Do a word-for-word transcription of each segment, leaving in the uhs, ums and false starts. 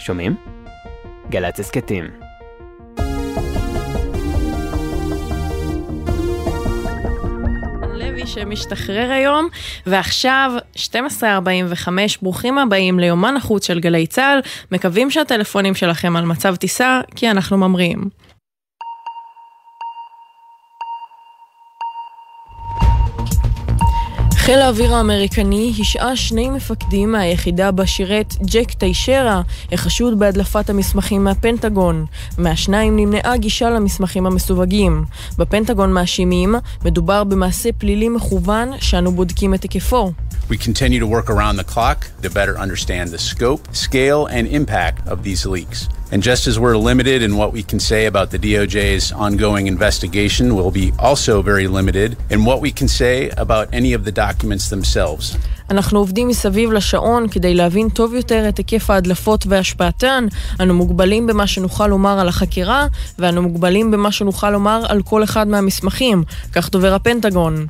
שומעים? גל"צ הסכתים. לוי שמשתחרר היום, ועכשיו שתים עשרה ארבעים וחמש, ברוכים הבאים ליומן החוץ של גלי צהל, מקווים שהטלפונים שלכם על מצב טיסה, כי אנחנו ממריאים. חיל האוויר האמריקני השעה שני מפקדים מהיחידה בשירת ג'ק טיישרה, החשוד בהדלפת המסמכים מהפנטגון. מהשניים נמנעה גישה למסמכים המסווגים. בפנטגון מאשימים, מדובר במעשה פלילי מכוון שאנו בודקים את היקפו. We continue to work around the clock to better understand the scope, scale, and impact of these leaks. And just as we're limited in what we can say about the D O J's ongoing investigation, we'll be also very limited in what we can say about any of the documents themselves. אנחנו עובדים מסביב לשעון כדי להבין טוב יותר את היקף ההדלפות והשפעתן. אנו מוגבלים במה שנוכל לומר על החקירה, ואנו מוגבלים במה שנוכל לומר על כל אחד מהמסמכים. כך דובר הפנטגון.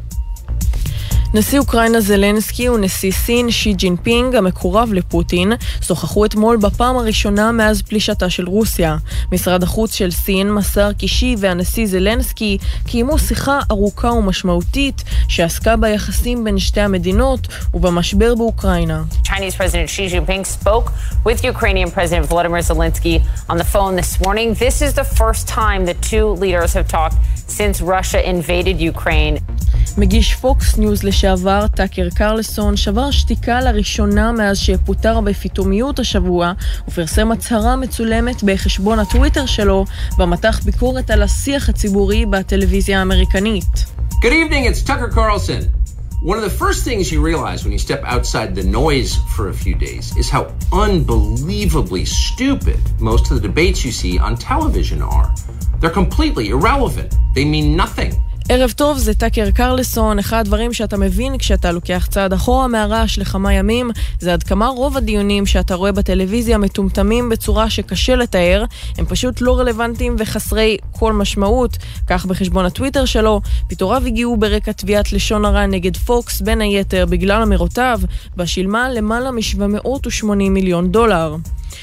נשיא אוקראינה זלנסקי ונשיא סין שי ג'ינפינג, המקורב לפוטין, שוחחו אתמול בפעם הראשונה מאז פלישתה של רוסיה. משרד החוץ של סין מסר כי שי והנשיא זלנסקי קיימו שיחה ארוכה ומשמעותית שעסקה ביחסים בין שתי המדינות ובמשבר באוקראינה. Chinese President Xi Jinping spoke with Ukrainian President Volodymyr Zelensky on the phone this morning. This is the first time the two leaders have talked since Russia invaded Ukraine. מגיש פוקס ניוז לשעבר טאקר קרלסון שבר שתיקה לראשונה מאז שפוטר בפתאומיות השבוע ופרסם הצהרה מצולמת בחשבון הטוויטר שלו במתח ביקורת על השיח הציבורי בטלוויזיה האמריקנית. Good evening, it's Tucker Carlson. One of the first things you realize when you step outside the noise for a few days is how unbelievably stupid most of the debates you see on television are. They're completely irrelevant. They mean nothing. ערב טוב, זה טאקר קרלסון. אחד הדברים שאתה מבין כשאתה לוקח צעד אחורה מהרעש לכמה ימים, זה עד כמה רוב הדיונים שאתה רואה בטלוויזיה מטומטמים בצורה שקשה לתאר, הם פשוט לא רלוונטיים וחסרי כל משמעות. כך בחשבון הטוויטר שלו, פיטוריו הגיעו ברקע תביעת לשון הרע נגד פוקס, בין היתר בגלל אמירותיו, בשילמה למעלה מ-שבע מאות ושמונים מיליון דולר.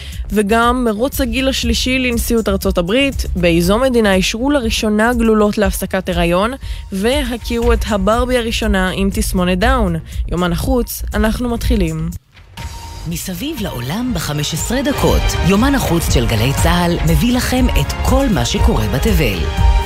וגם מרוץ הגיל השלישי לנשיאות ארצות הברית, באיזו מדינה אישרו לראשונה גלולות להפסקת הריון, והכירו את הברבי הראשונה עם תסמונת דאון. יומן החוץ, אנחנו מתחילים. מסביב לעולם ב-חמש עשרה דקות, יומן החוץ של גלי צהל מביא לכם את כל מה שקורה בתבל.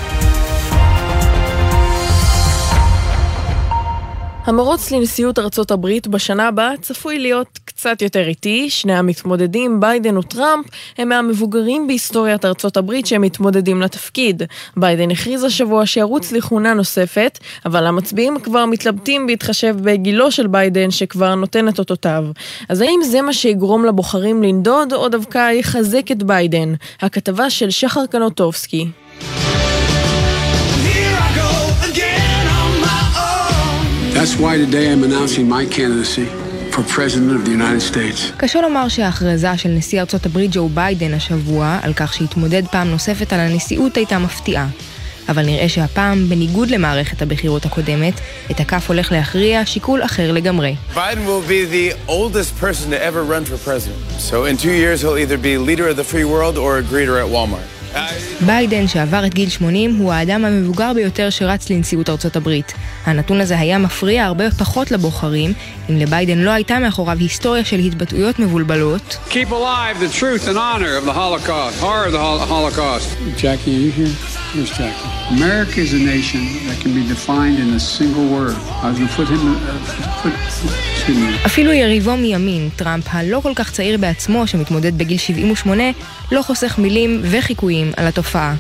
המרוץ לנשיאות ארצות הברית בשנה הבאה צפוי להיות קצת יותר איטי. שני המתמודדים, ביידן וטראמפ, הם מהמבוגרים בהיסטוריית ארצות הברית שהם מתמודדים לתפקיד. ביידן הכריז השבוע שירוץ לכהונה נוספת, אבל המצביעים כבר מתלבטים בהתחשב בגילו של ביידן שכבר נותן את אותותיו. אז האם זה מה שיגרום לבוחרים לנדוד, או דווקא יחזק את ביידן? הכתבה של שחר קנוטובסקי. That's why today I'm announcing my candidacy for President of the United States. קשה לומר שההכרזה של נשיא ארצות הברית ג'ו ביידן השבוע על כך שהתמודד פעם נוספת על הנשיאות הייתה מפתיעה. אבל נראה שהפעם, בניגוד למערכת הבחירות הקודמת, את הכף הולך להכריע שיקול אחר לגמרי. Biden will be the oldest person to ever run for president. So in two years he'll either be leader of the free world or a greeter at Walmart. ביידן, שעבר את גיל שמונים, הוא האדם המבוגר ביותר שרץ לנשיאות ארצות הברית. הנתון הזה היה מפריע הרבה פחות לבוחרים, אם לביידן לא הייתה מאחוריו היסטוריה של התבטאויות מבולבלות. Keep alive the truth and honor of the Holocaust, horror of the Holocaust. Jackie, are you here? Where's Jackie? America is a nation that can be defined in a single word. I was going to put him... Uh, put, אפילו יריבו מימין, טראמפ, הלא כל כך צעיר בעצמו, שמתמודד בגיל שבעים ושמונה, לא חוסך מילים וחיקויים על התופעה.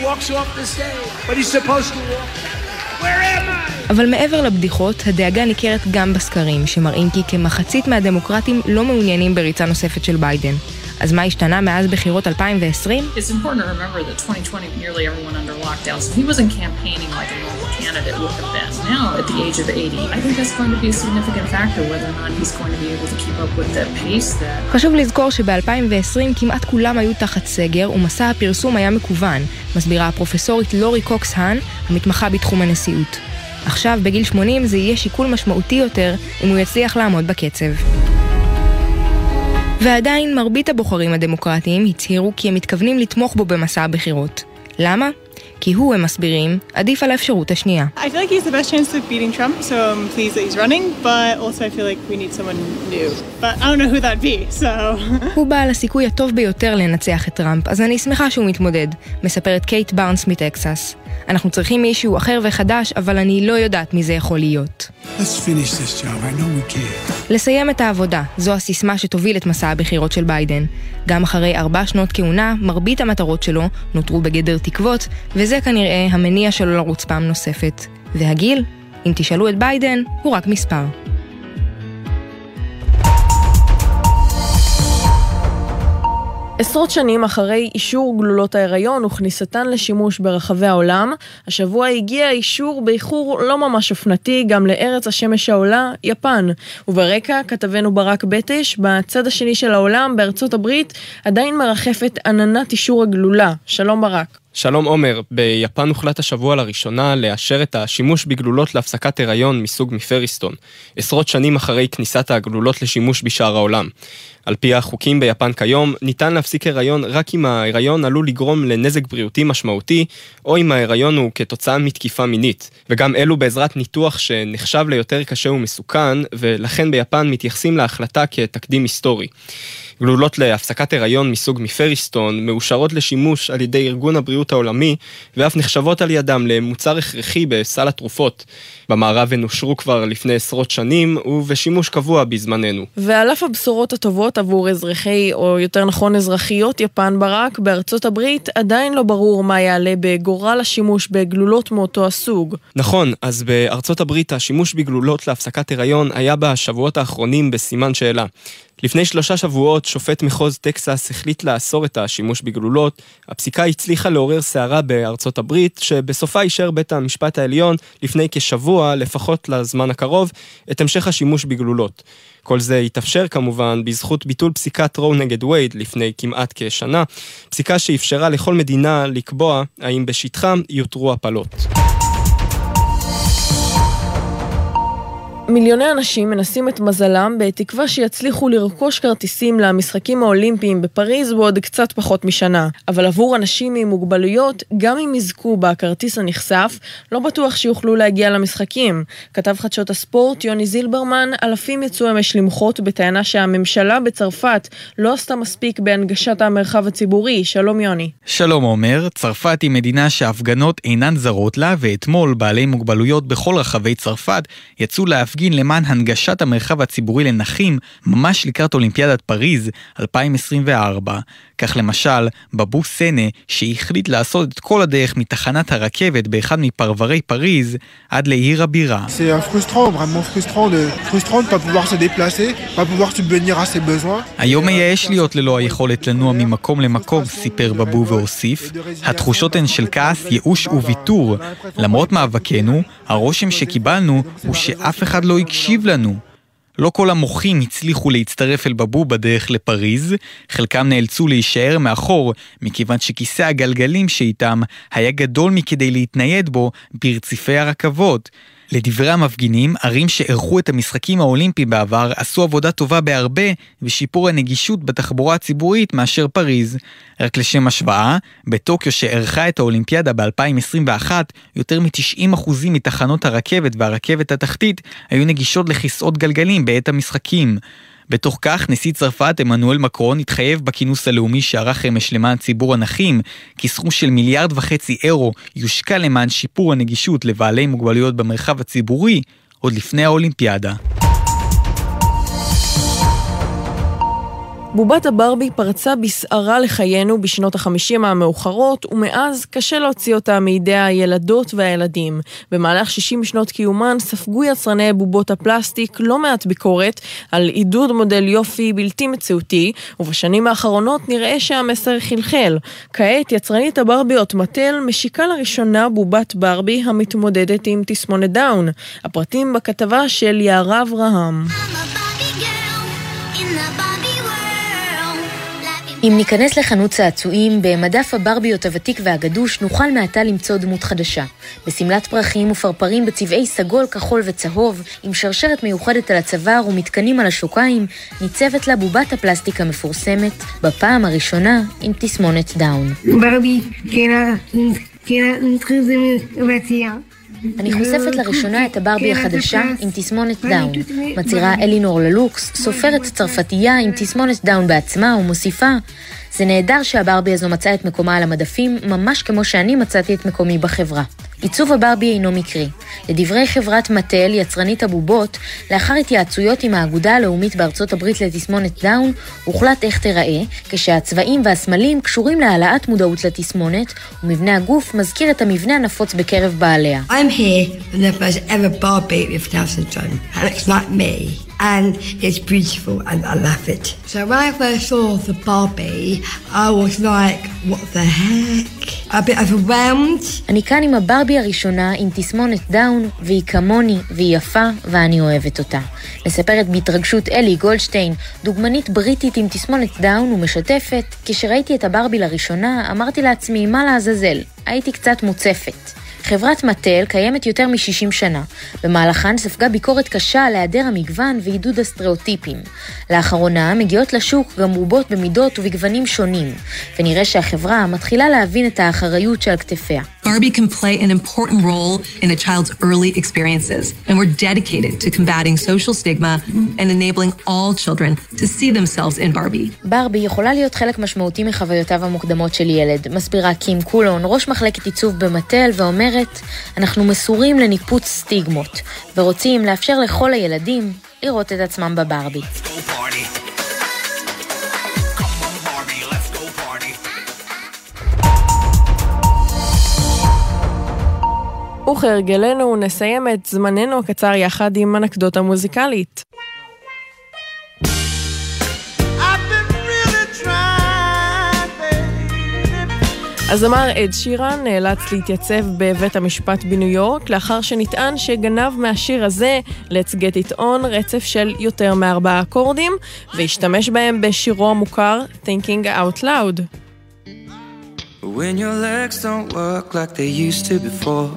אבל מעבר לבדיחות, הדאגה ניכרת גם בסקרים, שמראים כי כמחצית מהדמוקרטים לא מעוניינים בריצה נוספת של ביידן. אז מה השתנה מאז בחירות אלפיים ועשרים? It's important to remember that twenty twenty nearly everyone under lockdown, so he wasn't campaigning like a normal candidate would have been. Now, at the age of eighty, I think that's going to be a significant factor whether or not he's going to be able to keep up with the pace that... חשוב לזכור שב-אלפיים ועשרים כמעט כולם היו תחת סגר, ומסע הפרסום היה מקוון, מסבירה הפרופסורית לורי קוקס-האן, המתמחה בתחום הנשיאות. עכשיו, בגיל שמונים, זה יהיה שיקול משמעותי יותר אם הוא יצליח לעמוד בקצב. ועדיין מרבית הבוחרים הדמוקרטיים הצהירו כי הם מתכוונים לתמוך בו במסע הבחירות. למה? כי הוא, הם מסבירים, עדיף על האפשרות השנייה. I feel like he's the best chance of beating Trump, so I'm pleased that he's running, but also I feel like we need someone new. But I don't know who that'd be, so... הוא בעל הסיכוי הטוב ביותר לנצח את טראמפ, אז אני שמחה שהוא מתמודד, מספרת קייט בארנס מטקסס. אנחנו צריכים מישהו אחר וחדש, אבל אני לא יודעת מי זה יכול להיות. Let's finish this job. I know we can. לסיים את העבודה, זו הסיסמה שתוביל את מסע הבחירות של ביידן. גם אחרי ארבע שנות כהונה, מרבית המטרות שלו נותרו בגדר תקוות, וזה כנראה המניע שלו לרוץ פעם נוספת. והגיל, אם תשאלו את ביידן, הוא רק מספר. עשרות שנים אחרי אישור גלולות ההיריון וכניסתן לשימוש ברחבי העולם, השבוע הגיע אישור באיחור לא ממש אופנתי גם לארץ השמש העולה, יפן. וברקע כתבנו ברק בטש, בצד השני של העולם, בארצות הברית, עדיין מרחפת עננת אישור הגלולה. שלום ברק. שלום עומר, ביפן הוחלט השבוע לראשונה לאשר את השימוש בגלולות להפסקת הריון מסוג מפריסטון, עשרות שנים אחרי כניסת הגלולות לשימוש בשאר העולם. על פי החוקים ביפן כיום, ניתן להפסיק הריון רק אם ההריון עלול לגרום לנזק בריאותי משמעותי, או אם ההריון הוא כתוצאה מתקיפה מינית, וגם אלו בעזרת ניתוח שנחשב ליותר קשה ומסוכן, ולכן ביפן מתייחסים להחלטה כתקדים היסטורי. גלולות להפסקת הריון מסוג מפריסטון מאושרות לשימוש על ידי ארגון הבריאות העולמי, ואף נחשבות על ידם למוצר הכרחי בסל התרופות. במערב הן אושרו כבר לפני עשרות שנים, ובשימוש קבוע בזמננו. ועל אף הבשורות הטובות עבור אזרחי, או יותר נכון אזרחיות יפן ברק, בארצות הברית עדיין לא ברור מה יעלה בגורל השימוש בגלולות מאותו הסוג. נכון, אז בארצות הברית השימוש בגלולות להפסקת הריון היה בשבועות האחרונים בסימן שאלה. לפני שלושה שבועות שופט מחוז טקסס החליט לאסור את השימוש בגלולות. הפסיקה הצליחה לעורר סערה בארצות הברית, שבסופה אישר בית המשפט העליון לפני כשבוע, לפחות לזמן הקרוב, את המשך השימוש בגלולות. כל זה התאפשר כמובן בזכות ביטול פסיקת רו נגד וייד לפני כמעט כשנה, פסיקה שאפשרה לכל מדינה לקבוע האם בשטחם יותרו הפלות. מיליוני אנשים מנסים את מזלם בתקווה שיצליחו לרכוש כרטיסים למשחקים האולימפיים בפריז בעוד קצת פחות משנה. אבל עבור אנשים עם מוגבלויות, גם אם יזכו בכרטיס הנחשף, לא בטוח שיוכלו להגיע למשחקים. כתב חדשות הספורט יוני זילברמן, אלפים יצאו אמש למחות בטענה שהממשלה בצרפת לא עשתה מספיק בהנגשת המרחב הציבורי. שלום יוני. שלום עומר, צרפת היא מדינה שההפגנות אינן זרות לה, ואתמול בעלי מוגבלויות בכל רחבי צרפת יצאו להפגין למען הנגשת המרחב הציבורי לנכים ממש לקראת אולימפיאדת פריז אלפיים עשרים וארבע. כך למשל, בבו סנה, שהחליט לעשות את כל הדרך מתחנת הרכבת באחד מפרברי פריז עד לעיר הבירה. C'est frustrant, vraiment frustrant de frustrant de pas pouvoir se déplacer, pas pouvoir subvenir à ses besoins. היום מייאש להיות ללא היכולת לנוע ממקום למקום, סיפר בבו והוסיף. התחושות הן של כעס, ייאוש וויתור. למרות מאבקנו, הרושם שקיבלנו הוא שאף אחד לא הקשיב לנו. לא כל המוחים הצליחו להצטרף אל בבו בדרך לפריז, חלקם נאלצו להישאר מאחור, מכיוון שכיסא הגלגלים שאיתם היה גדול מכדי להתנייד בו ברציפי הרכבות. לדברי המפגינים, ערים שערכו את המשחקים האולימפיים בעבר עשו עבודה טובה בהרבה ושיפור הנגישות בתחבורה הציבורית מאשר פריז. רק לשם השוואה, בטוקיו שערכה את האולימפיאדה ב-אלפיים עשרים ואחת, יותר מ-תשעים אחוז מתחנות הרכבת והרכבת התחתית היו נגישות לכיסאות גלגלים בעת המשחקים. בתוך כך, נשיא צרפת אמנואל מקרון התחייב בכינוס הלאומי שערך אמש למען ציבור הנכים, כי סכום של מיליארד וחצי אירו יושקע למען שיפור הנגישות לבעלי מוגבלויות במרחב הציבורי עוד לפני האולימפיאדה. בובת הברבי פרצה בסערה לחיינו בשנות החמישים המאוחרות, ומאז קשה להוציא אותה מידי הילדות והילדים. במהלך שישים שנות קיומן ספגו יצרני בובות הפלסטיק לא מעט ביקורת על עידוד מודל יופי בלתי מציאותי, ובשנים האחרונות נראה שהמסר חלחל. כעת יצרנית הברביות מטל משיקה לראשונה בובת ברבי המתמודדת עם תסמונת דאון. הפרטים בכתבה של יערה אברהם. אם ניכנס לחנות צעצועים, במדף הברביות הוותיק והגדוש נוכל מעתה למצוא דמות חדשה. בסמלת פרחים ופרפרים בצבעי סגול, כחול וצהוב, עם שרשרת מיוחדת על הצוואר ומתקנים על השוקיים, ניצבת לה בובת הפלסטיק המפורסמת, בפעם הראשונה עם תסמונת דאון. ברבי, אני חושפת לראשונה את הברבי החדשה עם תסמונת דאון. מצהירה אלינור ללוקס, סופרת צרפתייה עם תסמונת דאון בעצמה, ומוסיפה, זה נהדר שהברבי הזו מצאה את מקומה על המדפים, ממש כמו שאני מצאתי את מקומי בחברה. עיצוב הברבי אינו מקרי. לדברי חברת מטל, יצרנית הבובות, לאחר התייעצויות עם האגודה הלאומית בארצות הברית לתסמונת דאון, הוחלט איך תיראה, כשהצבעים והסמלים קשורים להעלאת מודעות לתסמונת, ומבנה הגוף מזכיר את המבנה הנפוץ בקרב בעליה. I'm here for the first ever Barbie with Down syndrome, and it's like me. And it's beautiful and I love it. So when I first saw the Barbie, I was like, what the heck? A bit overwhelmed. אני כאן עם הברבי הראשונה עם תסמונת דאון, והיא כמוני והיא יפה ואני אוהבת אותה. מספרת בהתרגשות אלי גולדשטיין, דוגמנית בריטית עם תסמונת דאון ומשתפת, כשראיתי את הברבי לראשונה אמרתי לעצמי מה לעזאזל, הייתי קצת מוצפת. חברת מטל קיימת יותר מ-שישים שנה. במהלכן ספגה ביקורת קשה על היעדר המגוון ועידוד הסטריאוטיפים. לאחרונה מגיעות לשוק גם רובות במידות ובגוונים שונים, ונראה שהחברה מתחילה להבין את האחריות שעל כתפיה. Barbie can play an important role in a child's early experiences, and we're dedicated to combating social stigma and enabling all children to see themselves in Barbie. ברבי יכולה להיות חלק משמעותי מחוויותיו המוקדמות של ילד, מסבירה קים קולון, ראש מחלקת עיצוב במטל, ואומרת, אנחנו מסורים לניפוץ סטיגמות, ורוצים לאפשר לכל הילדים לראות את עצמם בברבי. וכהרגלנו נסיים את זמננו הקצר יחד עם אנקדוטה מוזיקלית. הזמר אד שירן נאלץ להתייצב בבית המשפט בניו יורק לאחר שנטען שגנב מהשיר הזה Let's Get It On רצף של יותר מארבעה אקורדים והשתמש בהם בשירו המוכר Thinking Out Loud. When your legs don't work like they used to before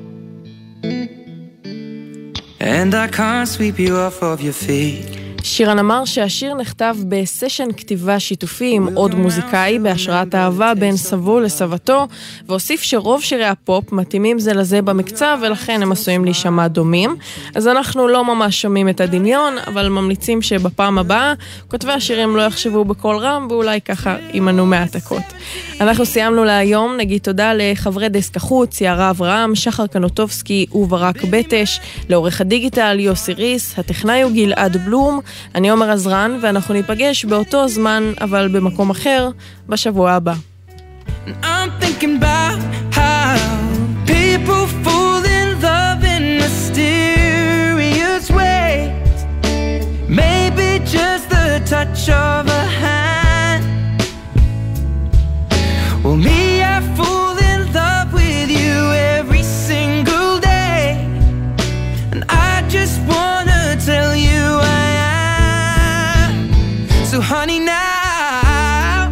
And I can't sweep you off of your feet שירן אמר שהשיר נכתב בסשן כתיבה שיתופי עם עוד מוזיקאי בהשראת אהבה בין סבו לסבתו, והוסיף שרוב שירי הפופ מתאימים זה לזה במקצב ולכן הם עשויים להישמע דומים. אז אנחנו לא ממש שומעים את הדמיון, אבל ממליצים שבפעם הבאה כותבי השירים לא יחשבו בקול רם ואולי ככה יימנו מהעתקות. אנחנו סיימנו להיום, נגיד תודה לחברי דסק החוץ, יערה אברהם, שחר קנוטובסקי וברק בטש, לעורך הדיגיטל יוסי ריס, הטכנאי הוא גלעד בלום, אני עומר עזרן, ואנחנו ניפגש באותו זמן, אבל במקום אחר, בשבוע הבא. I'm thinking about how people fall in love in mysterious ways Maybe just the touch of a hand Well, me, I fall in love with you every single day And I just wanna tell you I So honey now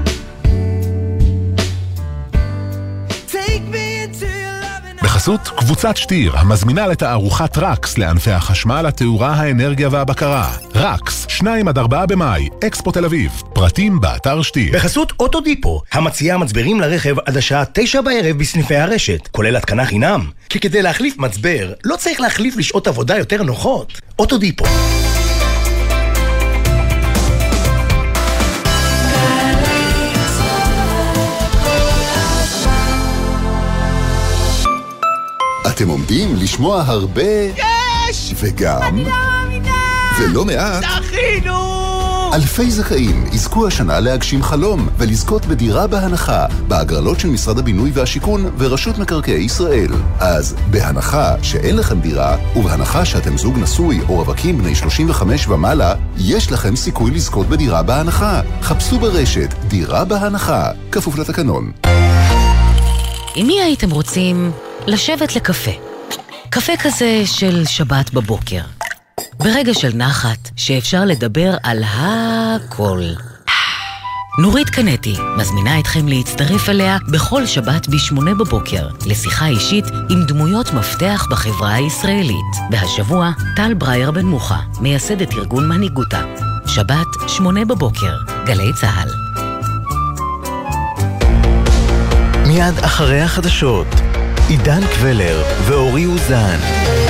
Take me into your love בחסות קבוצת שטיר המזמינה לתערוכת רקס לענפי החשמל, התאורה, האנרגיה והבקרה. רקס, שניים עד ארבעה במאי, אקספו תל אביב. פרטים באתר שטיר. בחסות אוטודיפו, המציעה מצברים לרכב עד השעה תשע בערב בסניפי הרשת, כולל התקנה חינם. כי כדי להחליף מצבר, לא צריך להחליף לשעות עבודה יותר נוחות. אוטודיפו. אתם עומדים לשמוע הרבה יש! וגם אני לא מאמינה! ולא מעט זכינו! אלפי זכאים יזכו השנה להגשים חלום ולזכות בדירה בהנחה בהגרלות של משרד הבינוי והשיכון ורשות מקרקעי ישראל. אז בהנחה שאין לכם דירה ובהנחה שאתם זוג נשוי או רווקים בני שלושים וחמש ומעלה, יש לכם סיכוי לזכות בדירה בהנחה. חפשו ברשת דירה בהנחה, כפוף לתקנון. עם מי הייתם רוצים לשבת לקפה? קפה כזה של שבת בבוקר. ברגע של נחת שאפשר לדבר על הכל. נורית קנטי מזמינה אתכם להצטרף אליה בכל שבת בשמונה בבוקר לשיחה אישית עם דמויות מפתח בחברה הישראלית. והשבוע טל ברייר בן מוחה, מייסדת ארגון מנהיגותה. שבת שמונה בבוקר, גלי צהל. מיד אחרי החדשות, עידן קבלר ואורי אוזן.